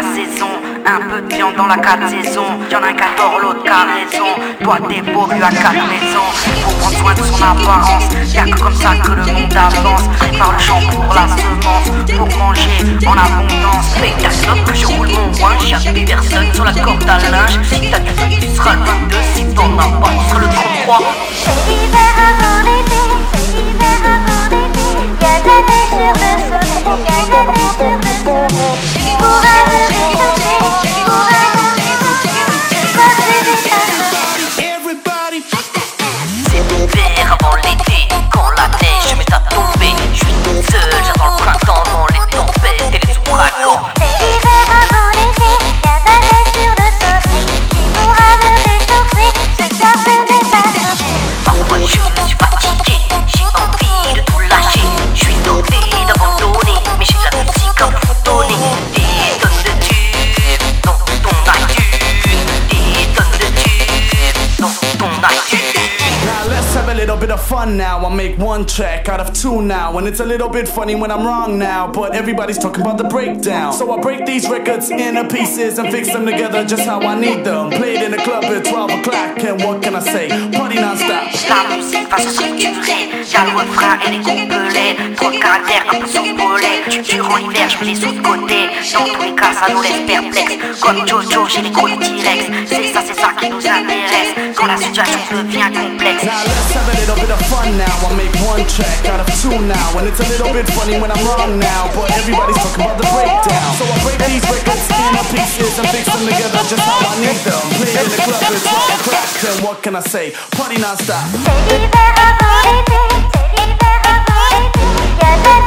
la saison. Un peu de viande dans la 4 saisons. Y'en a un qui adore, l'autre qui a raison. Toi t'es beau, lui à 4 maisons. Faut prendre soin de son apparence. Y'a que comme ça que le monde avance. Prépare le champ pour la semence. Pour manger en abondance. Paye ta clope que je roule mon ouin. Y'a plus personne sur la corde à linge. Si t'as du feu, tu seras le 22. Si t'en as pas, tu seras le 33. C'est l'hiver avant l'été, c'est l'hiver avant l'été. Y'a de la neige sur le soleil, y'a de la neige sur le soleil. Pour un me réchauffer, pour un me réchauffer. Quoi que je vais faire. Everybody. C'est l'hiver avant l'été. Quand la neige se met à tomber. Je suis toute seule, j'attends le printemps dans les tempêtes et les ouragans. C'est l'hiver avant l'été, y'a de la neige sur le soleil. Qui pourra me réchauffer, ce cœur se met à chauffer. Parfois je suis fatigué, j'ai envie de tout lâcher. Je suis tenté d'abandonner, mais j'ai de la musique à vous donner. Des tonnes de tubes dans ton iTunes. Des tonnes de tubes dans ton iTunes. Now let's have a little bit of fun now. I'll make one track out of two now. And it's a little bit funny when I'm wrong now. But everybody's talking about the breakdown. So I break these records into pieces and fix them together just how I need them. Played in the club at 12 o'clock. And what can I say? Party non-stop. La musique va se structurer. Y'a le refrain et les couplets. Trop de caractères un peu survolés. Durant l'hiver, je mets les autres côtés. Dans tous les cas, ça nous laisse perplexes. Comme Jojo, j'ai les gros T-Rex. C'est ça qui nous intéresse. Quand la situation devient complexe. Now let's have a little bit of fun now. I'll make one track out of two now. And it's a little bit funny when I'm wrong now. But everybody's talking about the breakdown. So I break these records into pieces and fix them together just how I need them. Played in the club at 12 o'clock. And what can I say? Party non-stop. C'est l'hiver avant l'été, c'est l'hiver avant l'été. Y'a de la